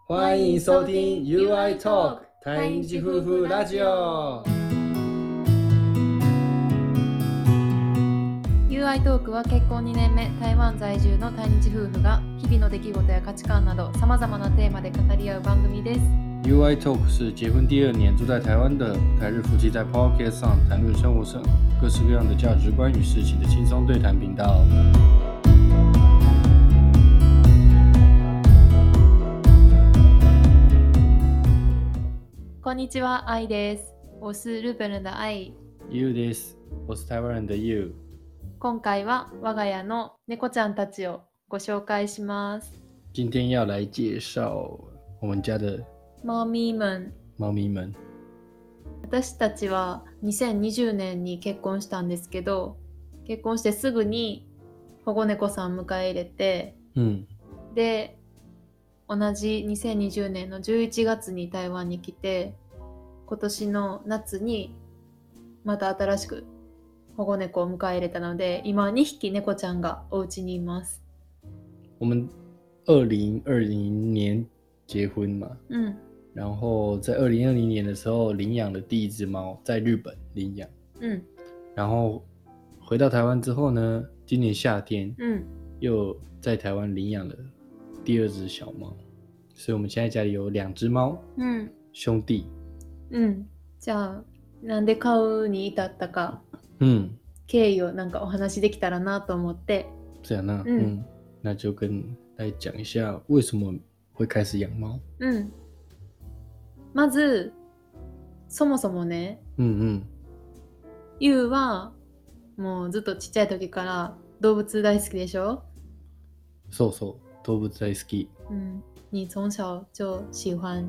欢迎收听 UI Talk 台日夫妇ラジオ。 UI トークは結婚2年目、台湾在住の対日夫婦が日々の出来事や価値観など様々なテーマで語り合う番組です。 UI Talk 是结婚第2年住在台湾的台日夫妻在 Podcast 上谈论生活上各式各样的价值观与事情的轻松对谈频道。 こんにちは、愛です。我是日本人的愛。 You this， 我是台湾人的 You。 今回は我が家の猫ちゃんたちをご紹介します。 今天要来介绍我们家的猫咪们。私たちは2020年に結婚したんですけど、結婚してすぐに保護猫さん迎え入れて、で、同じ2020年の11月に台湾に来て、今年の夏にまた新しく保護猫を迎え入れたので、今2匹猫ちゃんがお家にいます。 我们2020年结婚嘛，然后在2020年的时候领养了第一只猫，在日本领养，然后回到台湾之后呢，今年夏天，又在台湾领养了第2只小猫，所以我们现在家里有2只猫，兄弟。 じゃあなんで買うに至ったか、経緯をなんかお話できたらなと思って。 这样那那就跟大家讲一下为什么会开始养猫。 まずそもそもね、ゆうはもうずっとちっちゃい時から動物大好きでしょ？ そうそう、動物大好き。 你从小就喜欢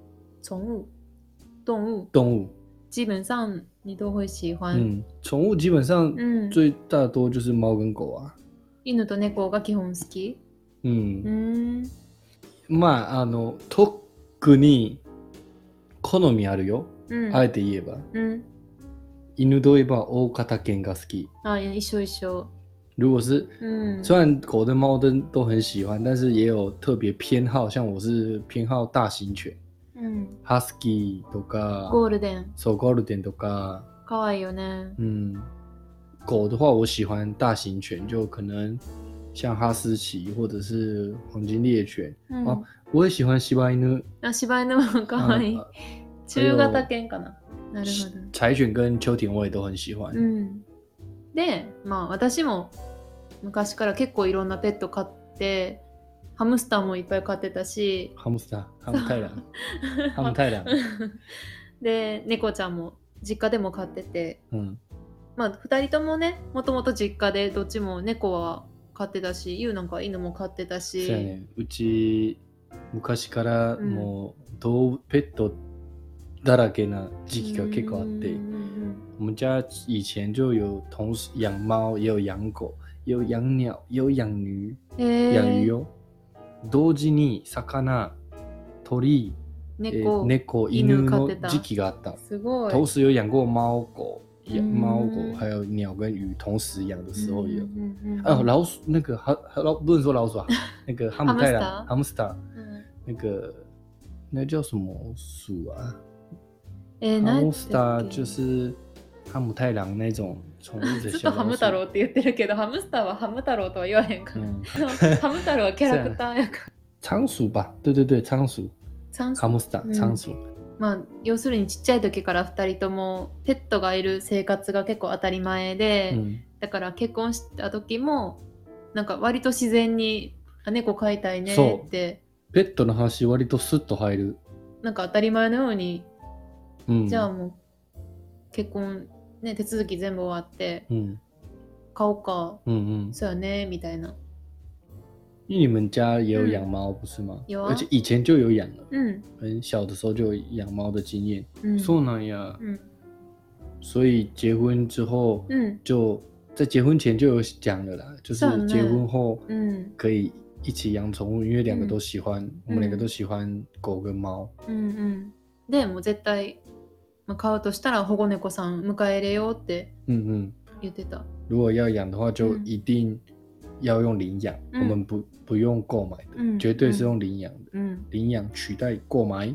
动物，基本上你都会喜欢。 宠物基本上最大多就是猫跟狗啊。 犬と猫が基本好き？ まあ特に好みあるよ。あえて言えば。犬といえば大型犬が好き。 一緒。 如果是虽然狗跟猫都很喜欢，但是也有特别偏好，像我是偏好大型犬。ハスキーとかゴールデン。 そう、ゴールデンとか。 可愛いよね。 狗的话我喜欢大型犬，就可能像哈士奇或者是黄金猎犬。我也喜欢柴犬。 柴犬も可愛い。中型犬かな。なるほど。 柴犬跟秋田我也都很喜欢。 で、私も昔から結構いろんなペット飼って、ハムスターもいっぱい飼ってたし、 ハム太郎で、猫ちゃんも実家でも飼ってて、2人ともね、もともと実家でどっちも猫は飼ってたし、ゆうなんか犬も飼ってたし。 そうやね。うち昔からもうペットだらけな時期が結構あって、我们家以前就有同时养猫，也有养狗，也有养鸟，也有养鱼，养鱼哦。同時に魚、鳥、猫、犬の時期があった。 すごい。 同时有养过猫狗还有鸟跟鱼，同时养的时候也有。老鼠那个不能说老鼠啊，那个哈姆太郎 hamster，那叫什么鼠啊？hamster 就是ハム太郎那种宠物的小老鼠。ずっとハム太郎って言ってるけど、ハムスターはハム太郎とは言わへんから。ハム太郎はキャラクターやから。仓鼠吧，对，仓鼠。ハムスター、仓鼠。 要するにちっちゃい時から2人ともペットがいる生活が結構当たり前で、だから結婚した時もなんか割と自然に猫飼いたいねって。 ペットの話割とスッと入る。 なんか当たり前のように、じゃあもう結婚ね、手続き全部終わって、買おうか、そうやねみたいな。 因为你们家也有养猫不是吗？有啊，而且以前就有养了。很小的时候就有养猫的经验。そうなんや。所以结婚之后，就在结婚前就有讲了啦，就是结婚后，可以一起养宠物，因为2个都喜欢，我们2个都喜欢狗跟猫。 でもう絶対飼うとしたら保護猫さん迎え入れようって言ってた。 如果要养的话，就一定要用领养，我们不用购买的，绝对是用领养的，领养取代购买。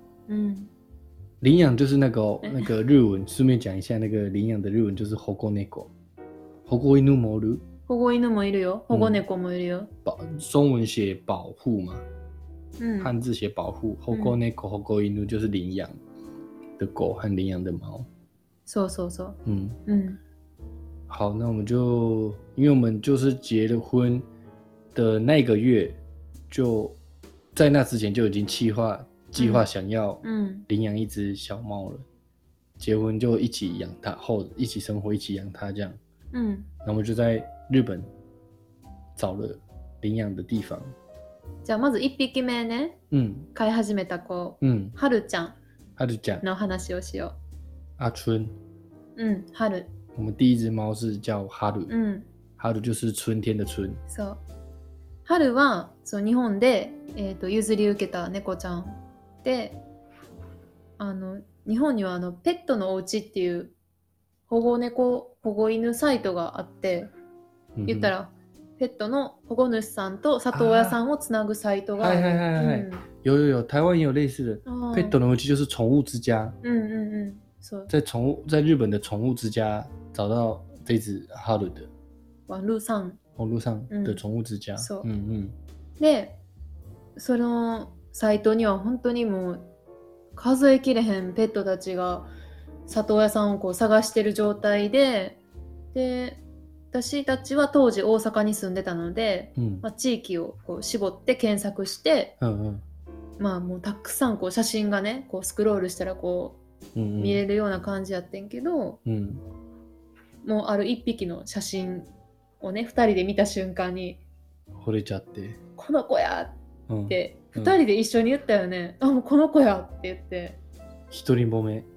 领养就是那个日文，顺便讲一下，那个领养的日文就是保護猫。保護犬もいる。 保護犬もいるよ。保護猫もいるよ。 中文写保护嘛，汉字写保护。保護猫、保護犬就是领养的狗和领养的猫。 そうそうそう。 好，那我们就，因为我们就是结了婚的那个月，就在那之前就已经计划想要领养一只小猫了。结婚就一起养它，一起生活，一起养它这样。那我们就在日本找了领養的地方。 じゃあまず1匹目ね、飼い始めた子、はるちゃんの話をしよう。 阿春。 はる。 我们第一只猫是叫哈鲁。哈鲁就是春天的春。 そう。はるは日本で、譲り受けた猫ちゃんで、日本にはペットのお家っていう保護猫保護犬サイトがあって、言ったらペットの保護主さんと里親さんをつなぐサイトがある。 有，台湾也有类似的。ペットのお家就是宠物之家。在日本的宠物之家找到这只哈鲁的。 网络上的宠物之家。 で、そのサイトには本当にもう数えきれへんペットたちが里親さんをこう探してる状態で、私たちは当時大阪に住んでたので、地域をこう絞って検索して、もうたくさんこう写真がねこうスクロールしたらこう、見れるような感じやってんけど、もうある1匹の写真をね2人で見た瞬間に惚れちゃって、 この子やって、2人で一緒に言ったよね。もうこの子やって言って。一目惚れ。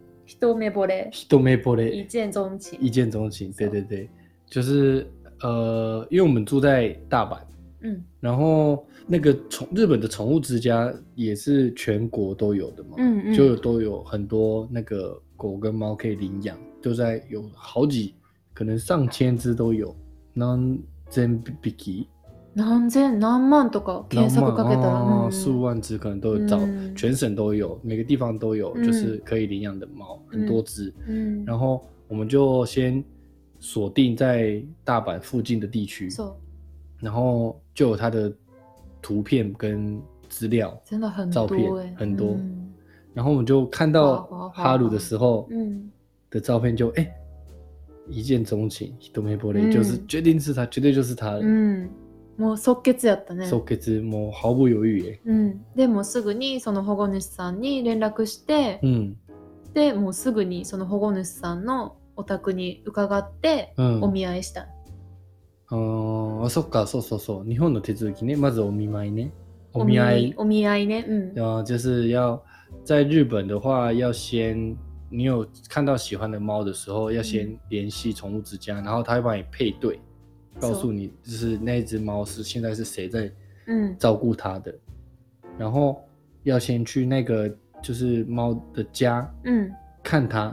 一见钟情。对，就是因为我们住在大阪，然后那个日本的宠物之家也是全国都有的嘛，就都有很多那个狗跟猫可以领养，就在有好几可能上千只都有。何千匹。 何万とか検索かけたら、 数万只可能都有找，全省都有，每个地方都有，就是可以领养的猫，很多只。然后我们就先锁定在大阪附近的地区，然后就有它的图片跟资料， 真的很多照片很多。然后我们就看到哈鲁的时候的照片就一见钟情，一目惚れ，就是决定是他，绝对就是他了。 もう即決やったね。 即決、もう毫不猶豫でもすぐにその保護主さんに連絡して、でもうすぐにその保護主さんのお宅に伺って、お見合いした。 そっか、そう。日本の手続きね、まずお見舞いね。お見合いね。 就是要在日本的话，要先你有看到喜欢的猫的时候，要先联系宠物之家，然后他会帮你配对。告诉你，就是那一只猫现在是谁在照顾它的，然后要先去那个就是猫的家，看它，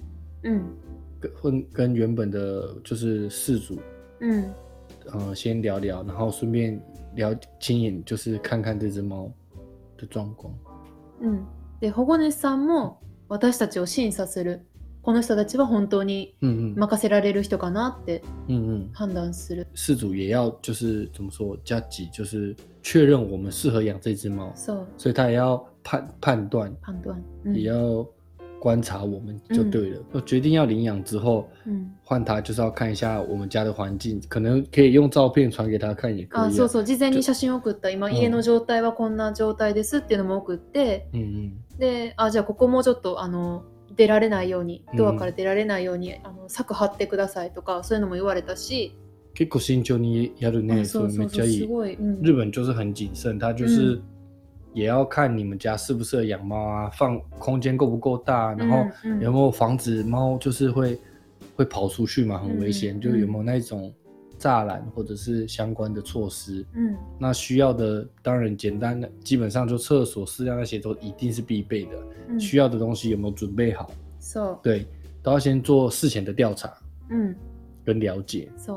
跟原本的就是饲主，先聊聊，然后顺便亲眼就是看看这只猫的状况。 で保護主さんも私たちを審査する。この人たちは本当に任せられる人かなって判断する。 饲主也要就是怎么说，加急就是确认我们适合养这只猫，所以他也要判断，也要观察我们就对了。决定要领养之后，换他就是要看一下我们家的环境，可能可以用照片传给他看也可以。 そう事前に写真を送った。今家の状態はこんな状態ですっていうのも送って、で、じゃあここもちょっと出られないように、ドアから出られないように柵張ってくださいとかそういうのも言われたし。 結構慎重にやるね。そうめっちゃいい。日本就是很谨慎，他就是也要看你们家适不适合养猫啊，放空间够不够大，然后有没有防止猫就是会跑出去嘛，很危险，就有没有那种栅栏或者是相关的措施。那需要的当然简单的，基本上就厕所、饲料那些都一定是必备的。需要的东西有没有准备好？对，都要先做事前的调查，跟了解。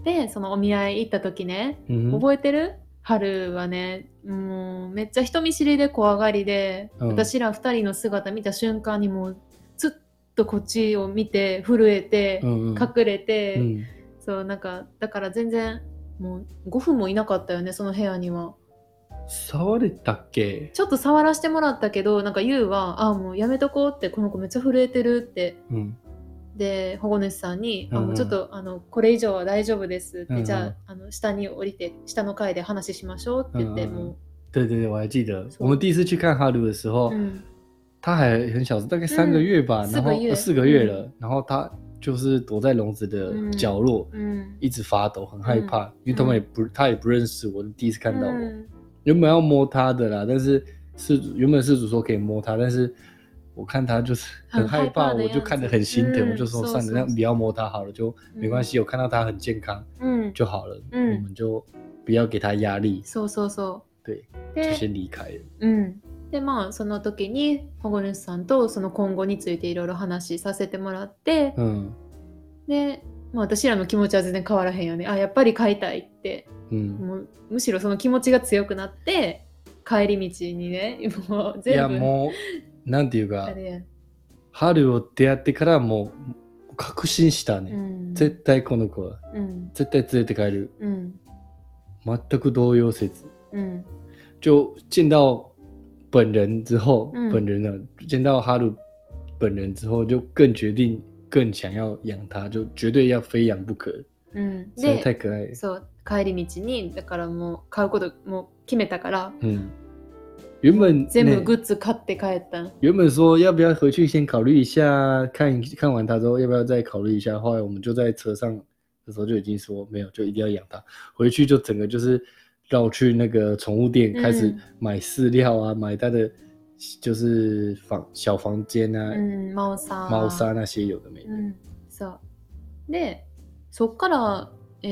でそのお見合い行った時ね、覚えてる？春はね、もうめっちゃ人見知りで怖がりで、私ら2人の姿見た瞬間にもうずっとこっちを見て震えて、隠れて、そうなんかだから全然もう5分もいなかったよね、その部屋には。 触れたっけ？ ちょっと触らせてもらったけど、なんかユウはもうやめとこうって、この子めっちゃ震えてるって、で保護主さんに、もうちょっとこれ以上は大丈夫ですって、じゃあ下に降りて下の階で話しましょうって言って、もう。 对对对，我还记得，我们第一次去看哈鲁的时候，他还很小，大概3个月吧，然后4个月了，然后他就是躲在笼子的角落，一直发抖，很害怕，因为他也不认识我，第一次看到我。原本要摸他的啦，但是原本事主说可以摸他，但是我看他就是很害怕，我就看得很心疼，我就说算了，那不要摸他好了，就没关系，我看到他很健康就好了，我们就不要给他压力。 そうそうそう。 对，就先離開了。でまあその時に保護主さんとその今後についていろいろ話させてもらって、で、まあ、私らの気持ちは全然変わらへんよね。やっぱり飼いたいって、もうむしろその気持ちが強くなって帰り道にね、もう全部。いやもうなんていうか、春を出会ってからもう確信したね。絶対この子は、絶対連れて帰る。全く動揺せず。就见到本人之后，本人呢见到哈鲁本人之后，就更决定更想要养他，就绝对要非养不可。实在太可愛い。 そう帰り道にだからもう買うこともう決めたから。 原本全部グッズ買って帰った。 原本说要不要回去先考虑一下，看完他之后要不要再考虑一下。后来我们就在车上的时候就已经说没有，就一定要养他。回去就整个就是绕去那个宠物店，开始买饲料啊，买他的就是小房间啊，猫砂那些有的没的。 そうでそっから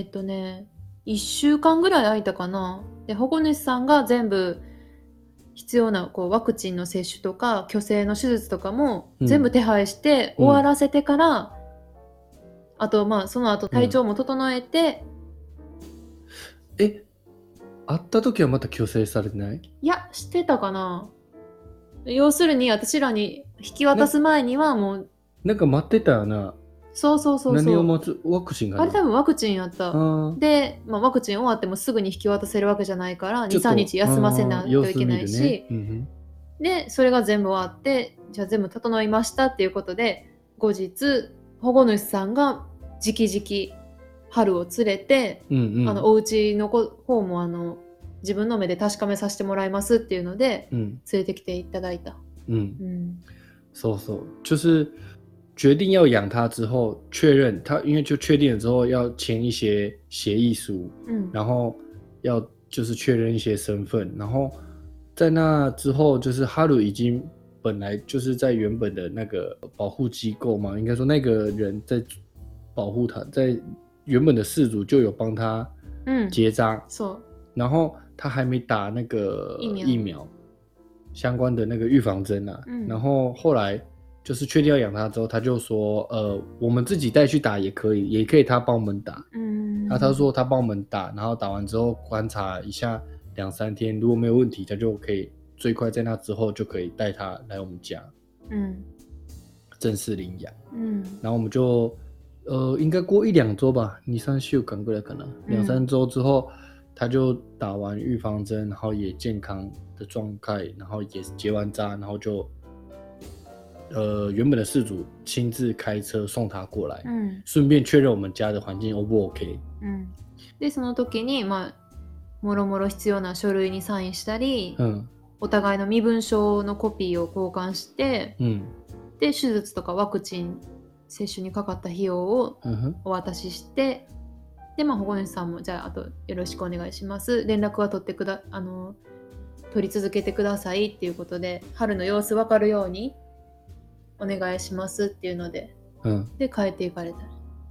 1週間ぐらい空いたかな。で保護主さんが全部必要なワクチンの接種とか去勢の手術とかも全部手配して終わらせてから、あとまあその後体調も整えて、 会った時はまた去勢されてない？ いやしてたかな。要するに私らに引き渡す前にはもうなんか待ってたよな。 そうそうそうそう。 何を待つ？ワクチンがあれ多分ワクチンやった。で、まあ、ワクチン終わってもすぐに引き渡せるわけじゃないから 2,3 日休ませないといけないし、でそれが全部終わってじゃあ全部整いましたっていうことで後日保護主さんが直々春を連れて、お家の方も自分の目で確かめさせてもらいますっていうので、連れてきていただいた。 そうそう就是决定要养它之后，确认它，因为就确定了之后要签一些协议书，然后要就是确认一些身份，然后在那之后，就是哈鲁已经本来就是在原本的那个保护机构嘛，应该说那个人在保护他，在原本的饲主就有帮他结扎，然后他还没打那个疫苗相关的那个预防针啊，然后后来。就是确定要养它之后，他就说，我们自己带去打也可以，也可以他帮我们打。然后他说他帮我们打，然后打完之后观察一下2-3天，如果没有问题，他就可以最快在那之后就可以带他来我们家，正式领养。然后我们就，应该过1-2周吧，2-3週間ぐらいかな，2-3周之后，他就打完预防针，然后也健康的状态，然后也结完扎，然后就。原本的饲主亲自開車送他過来，順便確認我們家的環境 O 不 OK。 でその時にまあもろもろ必要な書類にサインしたり、お互いの身分証のコピーを交換して、で手術とかワクチン接種にかかった費用をお渡しして、でまあ保護主さんもじゃああとよろしくお願いします。連絡は取り続けてくださいっていうことで、春の様子分かるように。お願いしますっていうので，で帰っていかれた。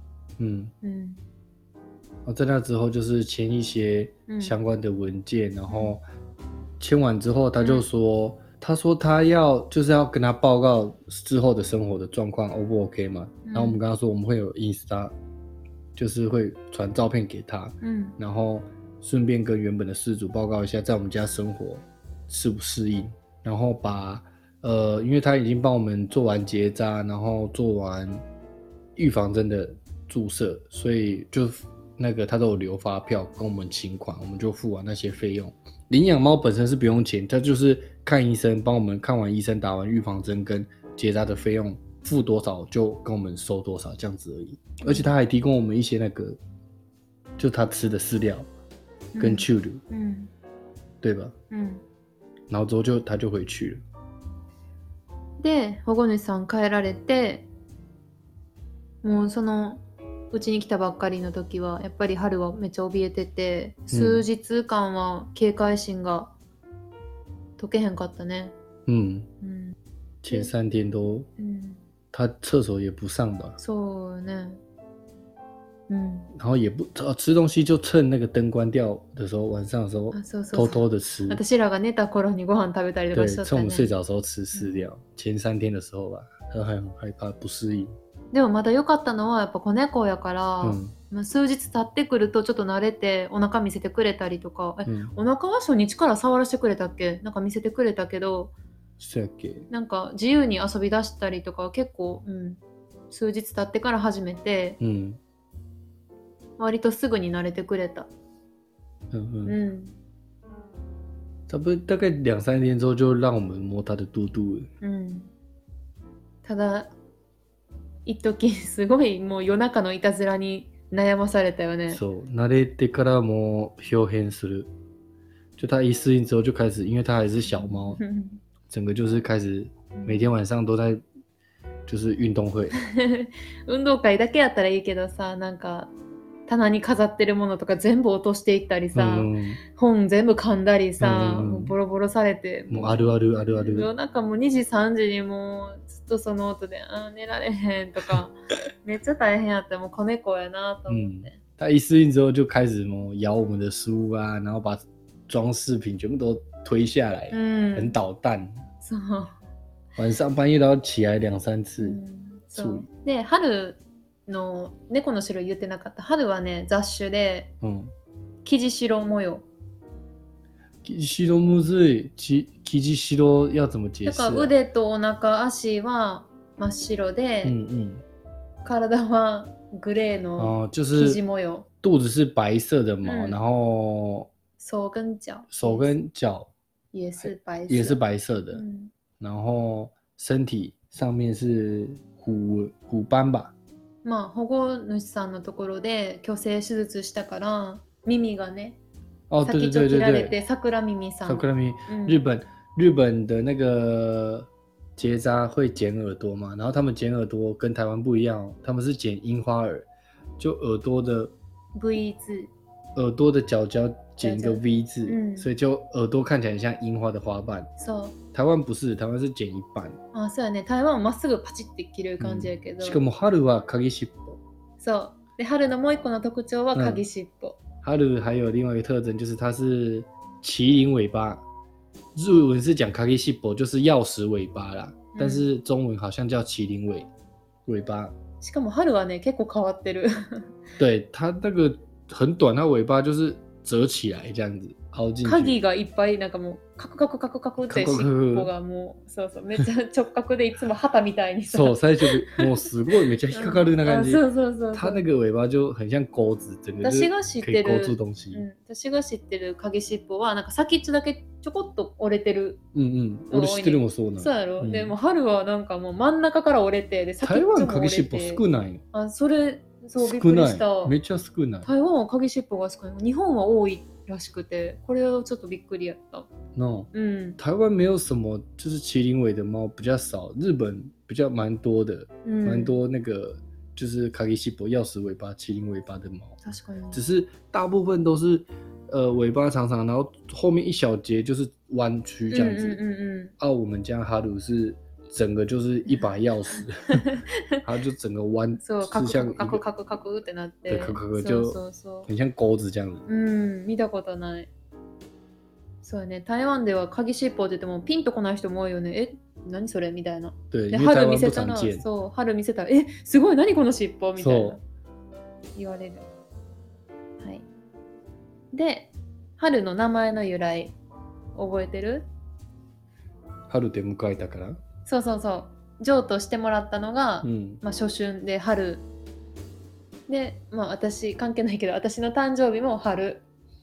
在那之后就是签一些相关的文件，然后签完之后他就说，他说他就是要跟他报告之后的生活的状况 O 不 OK 嘛？然后我们跟他说我们会有就是会传照片给他，然后顺便跟原本的事主报告一下在我们家生活适不适应，然后把因为他已经帮我们做完结扎，然后做完预防针的注射，所以就那个他都有留发票跟我们请款，我们就付完那些费用。领养猫本身是不用钱，他就是看医生，帮我们看完医生打完预防针跟结扎的费用付多少就跟我们收多少这样子而已。而且他还提供我们一些那个就他吃的饲料跟飼料，对吧？然后之后他就回去了。 で保護主さん帰られて、もうそのうちに来たばっかりの時はやっぱり春はめっちゃ怯えてて、数日間は警戒心が解けへんかったね。 前3天都，他厕所也不上吧？ そうね。 然后也不吃东西，就趁那个灯关掉的时候，晚上的时候偷偷的吃。 私らが寝た頃にご飯食べたりとかしちゃったね。 对，趁我们睡着的时候吃饲料。前3天的时候吧，他还很害怕不适应。 でもまだ良かったのはやっぱ子猫やから、数日経ってくるとちょっと慣れてお腹見せてくれたりとか、お腹は初日から触らせてくれたっけ？なんか見せてくれたけど、 そうやっけ？ なんか自由に遊び出したりとか結構、数日経ってから始めて、割とすぐに慣れてくれた。 差不多大概2-3天之后就让我们摸他的肚肚了。 ただ一時すごいもう夜中のいたずらに悩まされたよね。 そう、慣れてからもう表変する。就他一适应之后就开始，因为他还是小猫，整个就是开始每天晚上都在就是运动会。 運動会だけやったらいいけどさ、なんか棚に飾ってるものとか全部落としていったりさ、本全部噛んだりさ、もうボロボロされて、 もうあるあるあるある。 夜中もう2時3時にもうずっとその音で寝られへんとかめっちゃ大変やった。もう子猫やなと思って。 他一适应之后就开始咬我们的书啊，然后把装饰品全部都推下来，很捣蛋。 そう。 晚上半夜都要起来2-3次处理。 で、春の猫の種類言ってなかった。春はね、雑種で、生地白模様。 生地白むずい。生地白要怎么解释？ だから腕とお腹、足は真っ白で、体はグレーの生地模様。 肚子是白色的毛，然后手跟脚也是白色的，然后身体上面是虎斑吧。 まあ、保護主さんのところで矯正手術したから耳がね、先っちょ切られて桜耳さん。 桜耳，日本的那个结扎会剪耳朵嘛，然后他们剪耳朵跟台湾不一样，他们是剪樱花耳，就耳朵的 V 字， 耳朵的角角剪一个 V 字，所以就耳朵看起来很像樱花的花瓣。台湾不是，台湾是剪一半。 あ、そうやね。台湾はまっすぐパチって切る感じやけど。 しかも春は鍵尻尾。 そう。で、春のもう一個の特徴は鍵尻尾。 春还有另外一个特征就是它是麒麟尾巴。日文是讲鍵尻尾，就是钥匙尾巴啦，但是中文好像叫麒麟尾巴。 しかも春はね、結構変わってる。 对，它那个很短，它尾巴就是折起来这样子。 鍵がいっぱいなんかもうカクカクカクカクって尻尾がもうそうそうめっちゃ直角でいつも旗みたいにさ。 そう最初もうすごいめっちゃ引っかかる那感じ。そう。它那个尾巴就很像钩子，整个就是可以勾住东西。 私が知ってる鍵尻尾はなんか先っちょだけちょこっと折れてる。 俺知ってるもそうなの。 そうやろ。でも春はなんかもう真ん中から折れてで先っちょも折れて。 台湾鍵尻尾少ないの。 あ、それそうびっくりした。 めっちゃ少ない。 台湾は鍵尻尾が少ない。日本は多いらしくて、これはちょっとびっくりやった。 No，台湾没有什么就是麒麟尾的猫比较少，日本比较蛮多的，蛮多那个就是卡基西伯钥匙尾巴、麒麟尾巴的猫。只是大部分都是尾巴长长，然后后面一小节就是弯曲这样子。我们家哈鲁是整个就是一把钥匙，它就整个弯，是像カクカクカクってなって、 对，就很像钩子这样子。 見たことない。そうね、台湾では鍵尻尾って言ってもピンとこない人も多いよね。何それみたいな。 对， で春見せたら、そう春見せたらすごい何この尻尾みたいな。 言われる。はい。で、春の名前の由来覚えてる？ 春で迎えたから。 そうそうそう。譲渡してもらったのが、初春で春で、私関係ないけど、私の誕生日も春。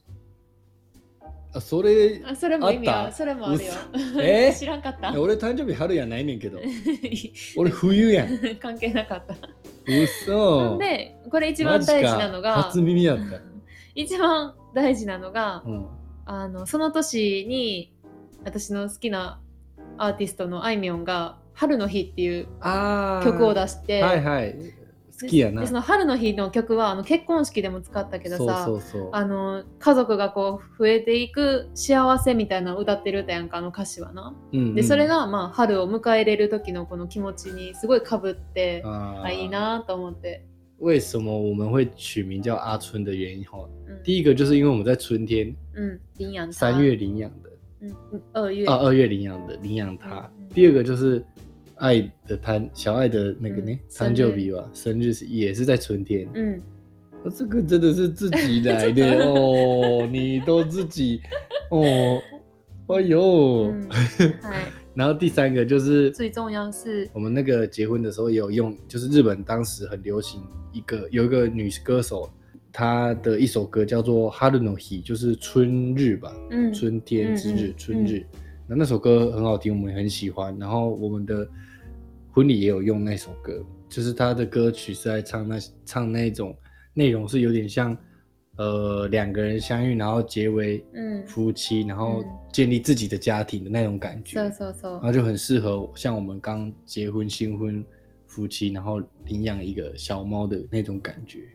それも意味はそれもあるよ。知らんかった？ 俺誕生日春やないねんけど。俺冬やん。 関係なかった。 嘘。 で、これ一番大事なのが、 初耳やった。 一番大事なのが、その年に私の好きなアーティストのあいみょんが春の日っていう曲を出して、 はいはい、好きやな。 でその春の日の曲は結婚式でも使ったけどさ、家族がこう増えていく幸せみたいなのを歌ってる歌やんか、歌詞はな、でそれが春を迎え入れる時のこの気持ちにすごいかぶっていいなと思って。 为什么我们会取名叫阿春的原因第一个就是因为我们在春天领养 3月领养的 2 月领养他第二个就是爱的小爱的那个呢誕生日吧，生日也是在春天。这个真的是自己来的哦，你都自己哦，哎呦。然后第三个就是最重要是我们那个结婚的时候也有用，就是日本当时很流行有一个女歌手，她的一首歌叫做《春の日》，就是春日吧，春天之日，春日。那首歌很好听，我们也很喜欢。然后我们的婚礼也有用那首歌，就是她的歌曲是在唱那种内容是有点像两个人相遇，然后结为夫妻，然后建立自己的家庭的那种感觉。然后就很适合像我们刚结婚新婚夫妻，然后领养一个小猫的那种感觉。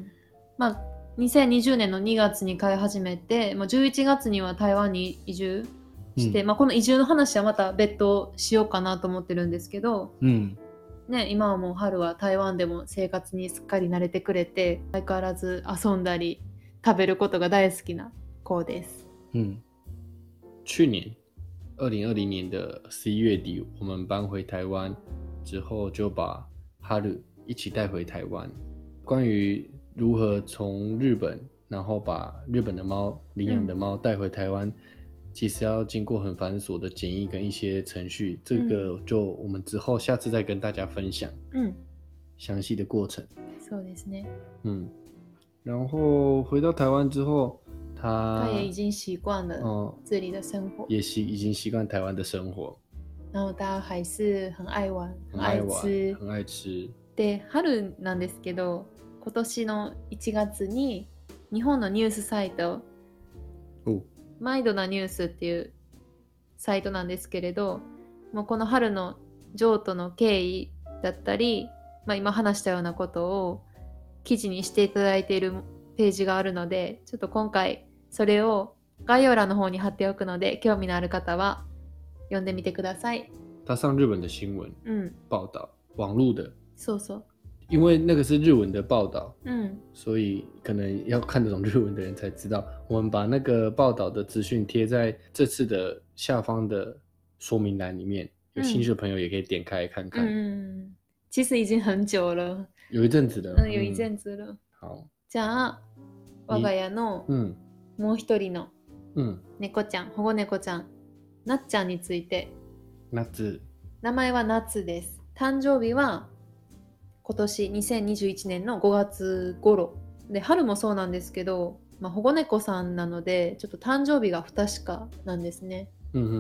2020年の2月に飼い始めて、11月には台湾に移住して、この移住の話はまた別途しようかなと思ってるんですけど、今はもう春は台湾でも生活にすっかり慣れてくれて、相変わらず遊んだり食べることが大好きな子です。 去年2020年的11月底，我们搬回台湾之后，就把哈鲁一起带回台湾。关于如何从日本，然后把日本的猫领养的猫带回台湾，其实要经过很繁琐的检疫跟一些程序，这个就我们之后下次再跟大家分享详细的过程。 そうですね。 然后回到台湾之后，他也已经习惯了这里的生活， 也已经习惯台湾的生活。 然后他还是很爱玩， 很愛吃，很愛吃。 で、春なんですけど、今年の1月に日本のニュースサイト、マイドなニュースっていうサイトなんですけれど、もうこの春の譲渡の経緯だったり、今話したようなことを記事にしていただいているページがあるので、ちょっと今回それを概要欄の方に貼っておくので、興味のある方は読んでみてください。 他上日本的新闻报道，网路的。 そうそう。 因为那个是日文的报道，所以可能要看得懂日文的人才知道。我们把那个报道的资讯贴在这次的下方的说明栏里面，有兴趣的朋友也可以点开来看看。 其实已经很久了， 有一阵子了。 有一阵子了。 好， じゃあ我が家のもう一人の猫ちゃん、保護猫ちゃん、なっちゃんについて。 夏。 名前は夏です。誕生日は今年2021年の5月頃で、春もそうなんですけど、保護猫さんなのでちょっと誕生日が不確かなんですね。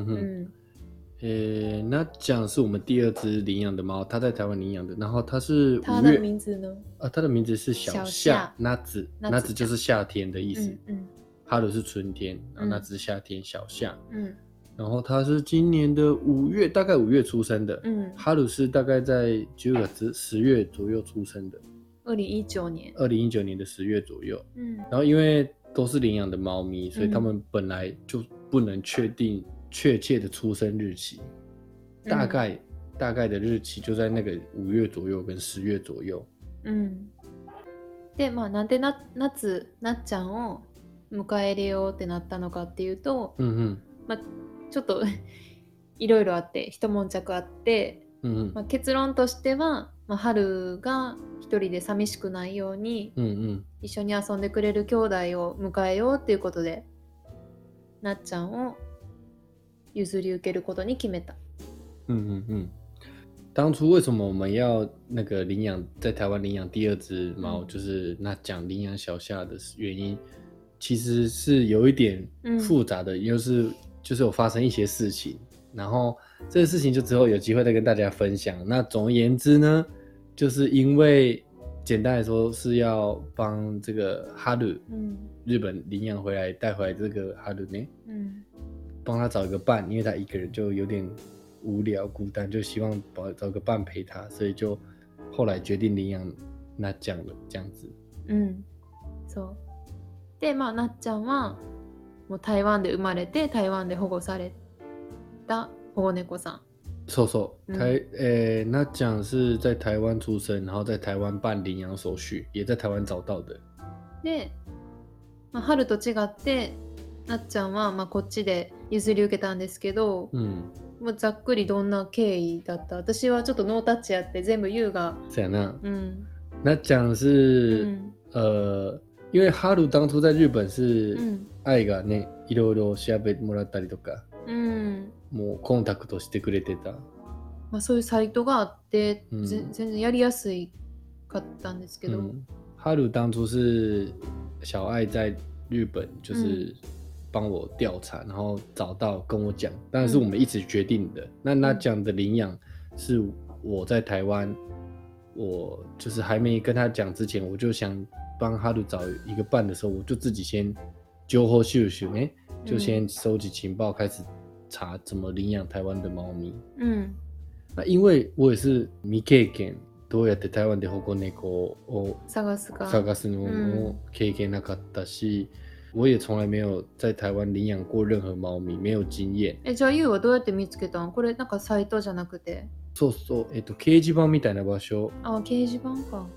那ちゃん是我们第二只领养的猫，它在台湾领养的，然后它是它的名字呢？ 它的名字是小夏，那子就是夏天的意思。春是春天，然后那只是夏天，小夏。然后他是今年的5月，大概5月出生的。春是大概在10月左右出生的。 2019年。 2019年的10月左右。然后因为都是领养的猫咪，所以他们本来就不能确定确切的出生日期，大概的日期就在那个5月左右跟10月左右。 で、なんで夏なっちゃんを迎え入れようってなったのかっていうと、ちょっといろいろあって一悶着あって、結論としては春が一人で寂しくないように、一緒に遊んでくれる兄弟を迎えようっていうことで、なっちゃんを譲り受けることに決めた。 当初为什么我们要那个领养在台湾领养第二只猫，就是那讲领养小夏的原因，其实是有一点复杂的，就是有发生一些事情，然后这个事情就之后有机会再跟大家分享。那总而言之呢，就是因为简单来说是要帮这个哈鲁，日本领养回来带回来这个哈鲁呢，帮他找一个伴，因为他一个人就有点无聊孤单，就希望找个伴陪他，所以就后来决定领养なっちゃん了这样子。 そうで、なっちゃんはもう台湾で生まれて台湾で保護された保護猫さん。 那っちゃん是在台湾出生，然后在台湾办领养手续，也在台湾找到的。 で、春と違ってなっちゃんはこっちで譲り受けたんですけど、もうざっくりどんな経緯だった？私はちょっとノータッチやって全部優が。 そうやな。那っちゃん是因为哈鲁当初在日本是愛がね、いろいろ調べてもらったりとか、もうコンタクトしてくれてた。 そういうサイトがあって、全然やりやすかったんですけど。 哈鲁当初是小愛在日本就是帮我调查，然后找到跟我讲，当然是我们一起决定的。那讲的领养是我在台湾，我就是还没跟他讲之前，我就想帮哈鲁找一个伴的时候，我就自己先揪后秀秀，就先收集情报，开始查怎么领养台湾的猫咪。那因为我也是未経験、どうやって台湾で保護猫を探すのも経験なかったし。我也从来没有在台湾领养过任何猫咪，没有经验。 じゃあユウはどうやって見つけたん？これなんかサイトじゃなくて。 そうそう、掲示板みたいな場所。 掲示板か。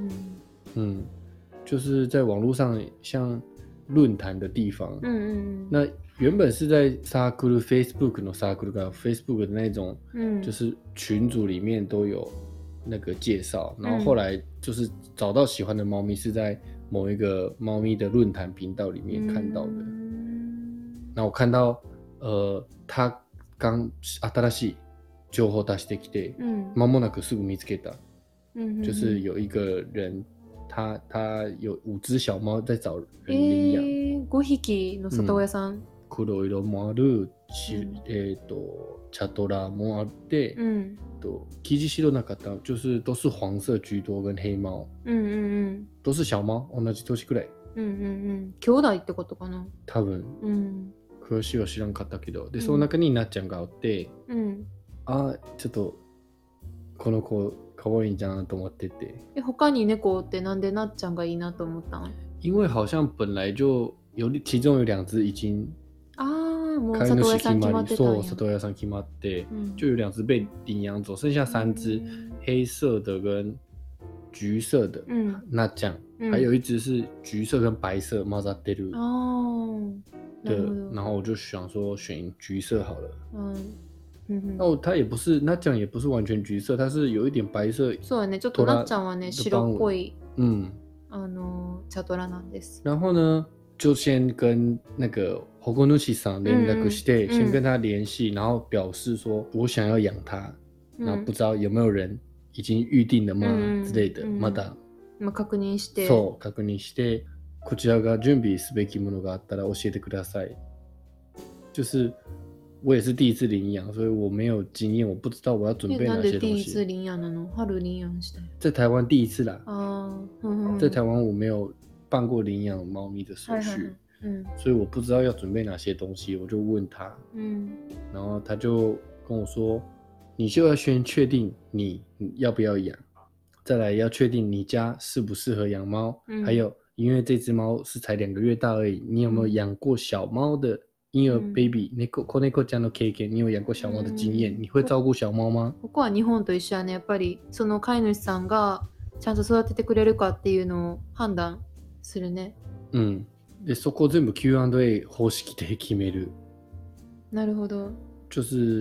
就是在网络上像论坛的地方。那原本是在サークル Facebook のサークルが Facebook 的那种，就是群组里面都有那个介绍，然后后来就是找到喜欢的猫咪是在某一个猫咪的论坛频道里面看到的。那我看到他刚新しい情報出してきて、間もなくすぐ見つけた。就是有一个人他有5只小猫在找人领养。 5匹の里親さん。 黒色もある、茶トラもあって、生地白なかった就是都是黄色居多跟黑猫。都是小猫，同じ年くらい。 兄弟ってことかな。 多分。詳しいは知らんかったけど、でその中になっちゃんがおって、ちょっとこの子可愛いんじゃんと思ってて。 他に猫ってなんでなっちゃんがいいなと思ったん？ 因为好像本来就其中有2只已经。 もう里親さん決まってたんや。 そう、里親さん決まって、就有2只被领养走，剩下3只，黑色的跟橘色的，那这样，还有一只是橘色跟白色混ざってる。对，然后我就想说选橘色好了。它也不是，那这样也不是完全橘色，它是有一点白色。 そうやね、ちょっとなっちゃんはね、白っぽい茶トラなんです。 然后呢？就先跟那个保護主さん連絡して、先跟他联系，然后表示说我想要养它，那不知道有没有人已经预定了吗之类的，まだ確認して、 そう確認して、こちらが準備すべきものがあったら教えてください。就是我也是第一次领养，所以我没有经验，我不知道我要准备哪些东西。 なんで第一次領養なの？春領養した。 在台湾第一次啦。在台湾我没有办过领养猫咪的手续，所以我不知道要准备哪些东西，我就问他，然后他就跟我说，你就要先确定你要不要养，再来要确定你家适不适合养猫，还有因为这只猫是才2个月大而已，你有没有养过小猫的婴儿 baby 子猫ちゃんの経験？你有养过小猫的经验？你会照顾小猫吗？ ここは日本と一緒やね。やっぱりその飼い主さんがちゃんと育ててくれるかっていうのを判断するね。 でそこ全部 Q&A 方式で決める。 なるほど。 就是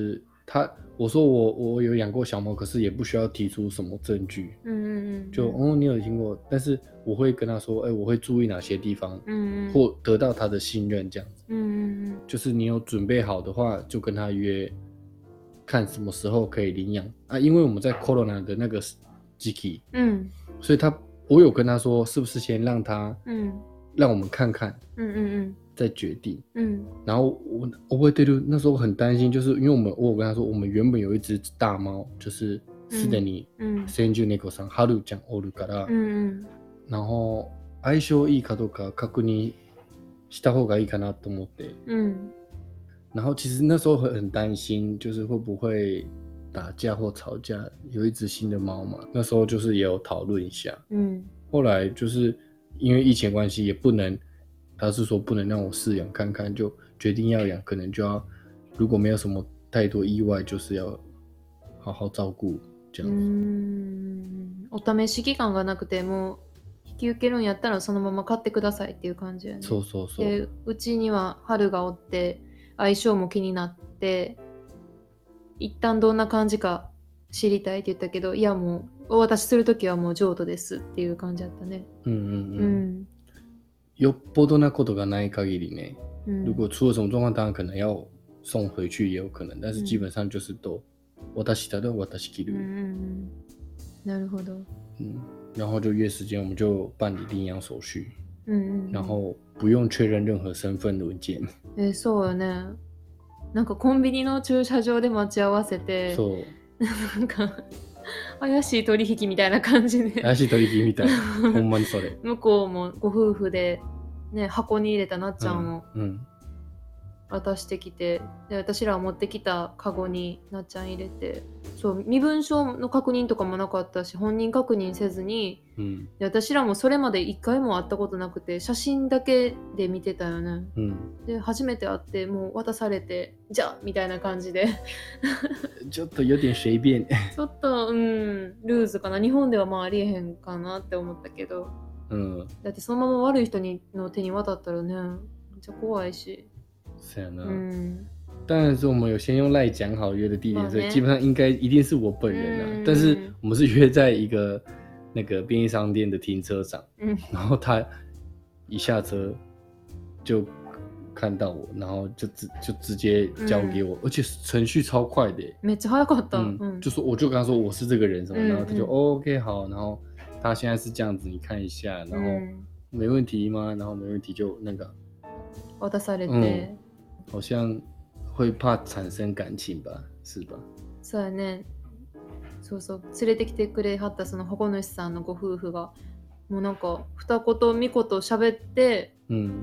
我说我有养过小猫，可是也不需要提出什么证据。就你有听过，但是我会跟他说，我会注意哪些地方，或得到他的信任这样子。就是你有准备好的话，就跟他约，看什么时候可以领养啊。因为我们在 Corona 的那个时期，所以我有跟他说，是不是先让我们看看，再决定。然后我会对那时候很担心，就是因为我有跟他说，我们原本有一只大猫，就是すでに先住猫さんハルちゃんおるから、然后相性いいかどうか確認した方がいいかなと思って。然后其实那时候很担心，就是会不会打架或吵架，有一只新的猫嘛，那时候就是也有讨论一下。后来就是因为疫情关系，也不能，他是说不能让我饲养看看，就决定要养，可能就要，如果没有什么太多意外，就是要好好照顾这样子。 お試し期間がなくても引き受けるんやったらそのまま飼ってくださいっていう感じやね。 そうそうそう。 でうちには春がおって相性も気になって一旦どんな感じか知りたいって言ったけど、いやもうお渡しするときはもう譲渡ですっていう感じだったね。 よっぽどなことがない限りね、如果出了什么状况，当然可能要送回去也有可能，但是基本上就是都渡したら渡し切る。 なるほど。 然后就约时间，我们就办理领养手续。然后不用确认任何身份文件。 そうよね。なんかコンビニの駐車場で待ち合わせて、なんか怪しい取引みたいな感じで。 怪しい取引みたいな。ほんまにそれ。 向こうもご夫婦で、ね、箱に入れたなっちゃんを渡してきて、で私らは持ってきたカゴになっちゃん入れて、そう身分証の確認とかもなかったし、本人確認せずに、で私らもそれまで一回も会ったことなくて、写真だけで見てたよね。で初めて会ってもう渡されて、じゃあみたいな感じでちょっと有点随便。 ちょっとルーズかな。日本ではまあありえへんかなって思ったけど、だってそのまま悪い人の手に渡ったらね、めっちゃ怖いし。 是啊呢。当然是我们有先用赖讲好约的地点，所以基本上一定是我本人啊。但是我们是约在一个那个便利商店的停车场，然后他一下车就看到我，然后就直接交给我，而且程序超快的。 めっちゃ早かった。 我就跟他说我是这个人什么，然后他就OK 好，然后他现在是这样子，你看一下，然后没问题吗？然后没问题就那个渡されて。 好像会怕产生感情吧，是吧？ そうやね。そうそう、連れてきてくれはったその保護主さんのご夫婦がもうなんか二言三言喋って、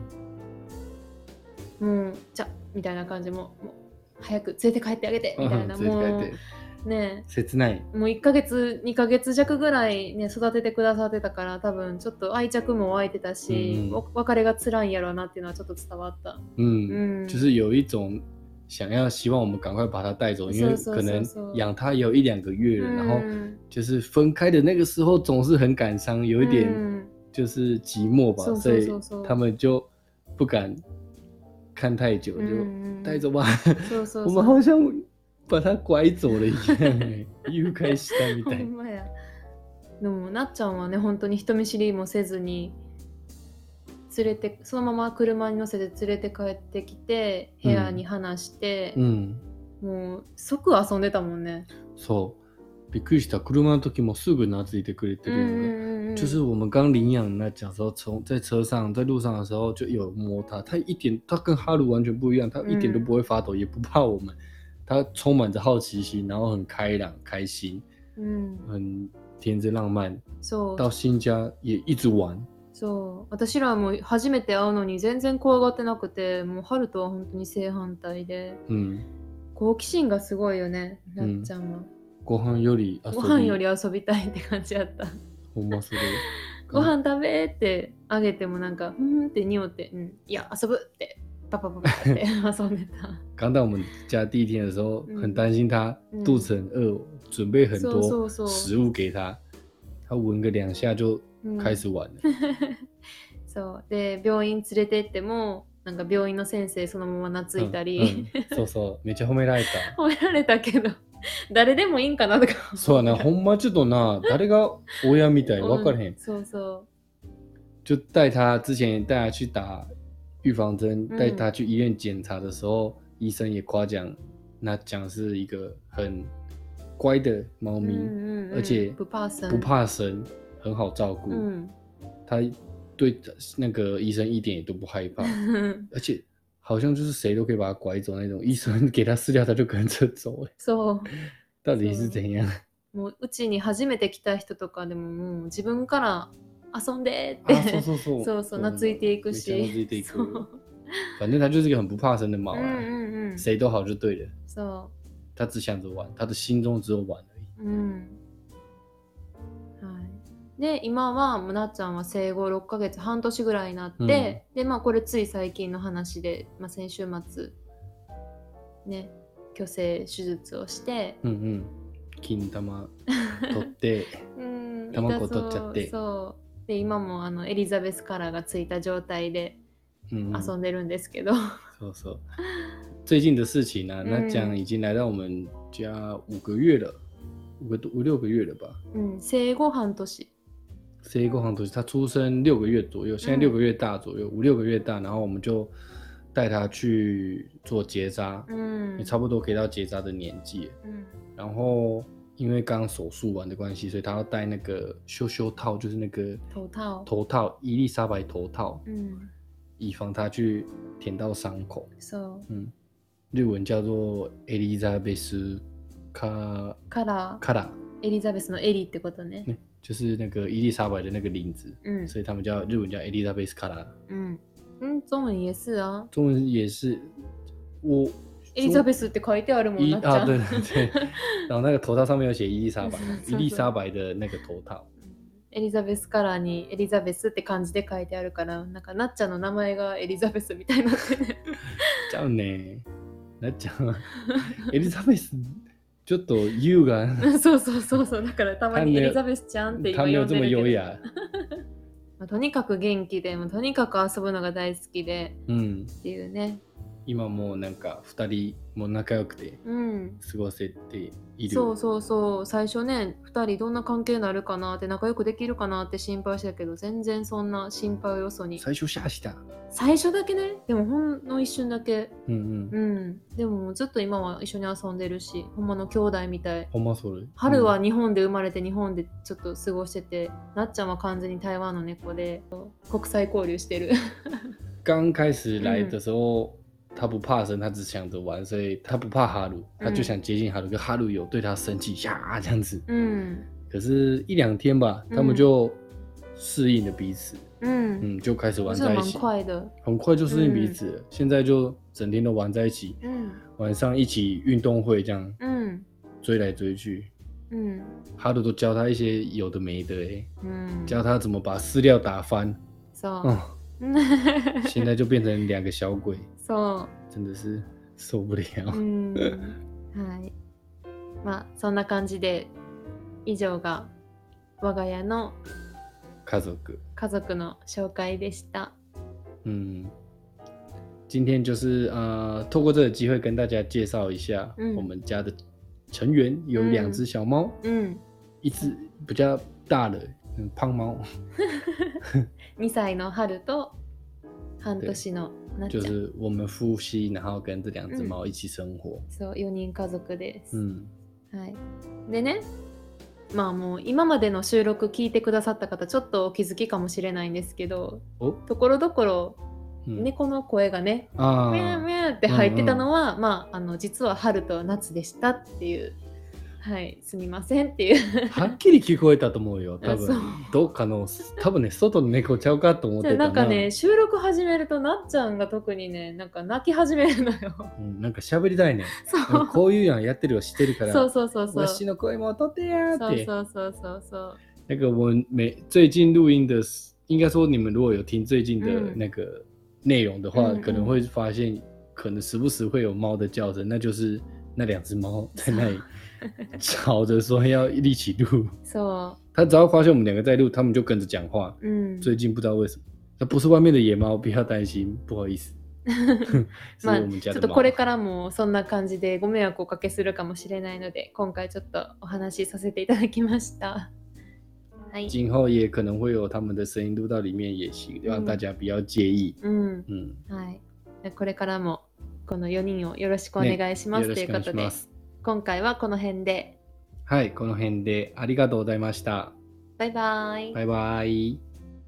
もうじゃみたいな感じ、もう早く連れて帰ってあげてみたいな、もうね、 切ない。 もう1ヶ月2ヶ月弱ぐらいね育ててくださってたから、多分ちょっと愛着も湧いてたし、別れが辛いんやろうなっていうのはちょっと伝わった。 就是有一种希望我们赶快把它带走，因为可能养它也有1-2个月了，然后就是分开的那个时候总是很感伤，有一点就是寂寞吧，所以他们就不敢看太久，就带走吧。我们好像把它拐走了一样。誘拐したみたい。 ほんまや。でもなっちゃんはね、本当に人見知りもせずにそのまま車に乗せて連れて帰ってきて、部屋に放して、もう即遊んでたもんね。 そう。びっくりした。車の時もすぐ懐いてくれてる。就是我们刚领养那讲说，在车上在路上的时候就有摸它，它跟哈鲁完全不一样，它一点都不会发抖，也不怕我们，它充满着好奇心，然后很开朗开心，很天真浪漫。到新家也一直玩。 そう、私らも初めて会うのに全然怖がってなくて、もう春とは本当に正反対で、好奇心がすごいよね、なっちゃんは。 ご飯より遊びたいって感じやった。 ほんまそれ。 ご飯食べってあげてもなんかって匂って、いや遊ぶってパパって遊んでた。 刚到我们家第一天的时候，很担心他肚子很饿，准备很多食物给他，他闻个2下就开始玩了。 そうで病院連れてってもなんか病院の先生そのまま懐いたり、 そうそうめっちゃ褒められた褒められたけど誰でもいいんかなとかそうやなほんまちょっとな誰が親みたい分からへん、 そうそう就之前带他去打预防针，带他去医院检查的时候，医生也夸奖那讲是一个很乖的猫咪，而且不怕生，很好照顾。他对那个医生一点也都不害怕，而且好像就是谁都可以把他拐走那种。医生给他饲料，他就跟着走。 そう。 到底是怎样？ もううちに初めて来た人とかでももう自分から遊んでってそう懐いていくし。 懐いていく。反正他就是一个很不怕生的猫啊，谁都好就对了。 そう。 他只想着玩，他的心中只有玩而已。 はい。で今はなっちゃんは生後6ヶ月半年ぐらいになって、でこれつい最近の話で、先週末ね去勢手術をして、 金玉取って卵取っちゃって、 そうで今もエリザベスカラーがついた状態で遊んでるんですけど、 そうそう。最近的事情呢，那讲已经来到我们家5个月了，5、6个月了吧？ 生後半年。 生後半年，他出生6个月左右，现在6个月大左右，5、6个月大，然后我们就带他去做结扎，也差不多可以到结扎的年纪，然后因为刚手术完的关系，所以他要戴那个羞套，就是那个头套，伊丽莎白头套，以防他去舔到伤口。日文叫做エリザベスカラ。 エリザベスのエリってことね。 就是那个伊丽莎白的那个领子，所以他们日文叫エリザベスカラ。 中文也是啊。 中文也是，我エリザベスって書いてあるもんなっちゃう。 对对对，然后那个头套上面有写伊丽莎白，伊丽莎白的那个头套。 エリザベスカラーにエリザベスって漢字で書いてあるから、なんかなっちゃんの名前がエリザベスみたいになってね。 ちゃうね。なっちゃんエリザベスちょっと優雅。 そうだからたまにエリザベスちゃんって今呼んでるけど。とにかく元気で、とにかく遊ぶのが大好きで、っていうね。 今もうなんか2人も仲良くて過ごせている、 そう最初ね2人どんな関係になるかなって仲良くできるかなって心配したけど、全然そんな心配をよそに最初シャーした。 最初だけね、でもほんの一瞬だけ、でもずっと今は一緒に遊んでるし、ほんまの兄弟みたい。 ほんまそれ。 春は日本で生まれて日本でちょっと過ごしてて、なっちゃんは完全に台湾の猫で国際交流してる。 刚开始来的时候、他不怕生，他只想着玩，所以他不怕哈鲁，他就想接近哈鲁，可哈鲁有对他生气呀这样子。可是1、2天吧，他们就适应了彼此，就开始玩在一起，很快就适应彼此了。现在就整天都玩在一起，晚上一起运动会这样，追来追去，哈鲁都教他一些有的没的教他怎么把饲料打翻，现在就变成2个小鬼，真的是受不了。 はい。そんな感じで以上が我が家の家族の紹介でした。 今天就是透过这个机会跟大家介绍一下我们家的成员，有2只小猫，一只比较大的胖猫。 2歳の春と半年のなっちゃん。 就是我们夫妻，然后跟这2只猫一起生活。 そう、4人家族です。はい。でね、もう今までの収録聞いてくださった方ちょっとお気づきかもしれないんですけど、ところどころ猫の声がね、ミャーミャーって入ってたのは、実は春と夏でしたっていう。はい、すみませんっていう。 はっきり聞こえたと思うよ。多分どっかの多分ね外の猫ちゃうかと思ってたな。 なんかね収録始めるとなっちゃんが特にねなんか泣き始めるのよ。 なんか喋りたいね。こういうやんやってるをしてるから。 そうわしの声も取ってやーって。 そう。 那个我最近录音的，应该说你们如果有听最近的那个内容的话，可能会发现可能时不时会有猫的叫声，那就是那2只猫在那里。吵着说要一起录，他只要发现我们2个在录，他们就跟着讲话。最近不知道为什么，那不是外面的野猫，不要担心，不好意思。 まあちょっとこれからもそんな感じでご迷惑をおかけするかもしれないので、今回ちょっとお話しさせていただきました。 はい、今後也可能会有他们的声音录到里面也行，让大家不要介意。 はい。これからもこの4人をよろしくお願いします、ということで、今回はこの辺で。 はい、この辺でありがとうございました。 バイバイ。 バイバイ。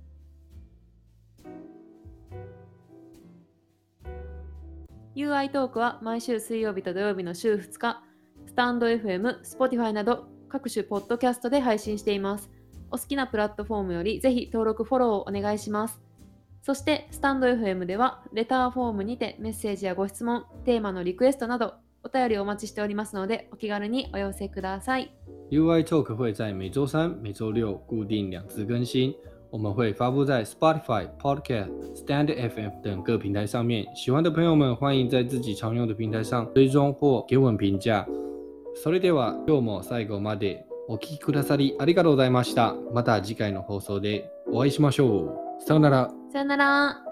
UI トークは毎週水曜日と土曜日の週2日、スタンド FM、Spotify など各種ポッドキャストで配信しています。お好きなプラットフォームよりぜひ登録フォローをお願いします。そしてスタンド FM ではレターフォームにてメッセージやご質問、テーマのリクエストなどお便りお待ちしておりますので、お気軽にお寄せください。 UI Talk 会在每周三、每周六固定2次更新。我们会发布在 Spotify、Podcast、Stand FM 等各平台上面。喜欢的朋友们欢迎在自己常用的平台上追踪或给我们评价。それでは今日も最後までお聞きくださりありがとうございました。また次回の放送でお会いしましょう。さよなら。 さよなら。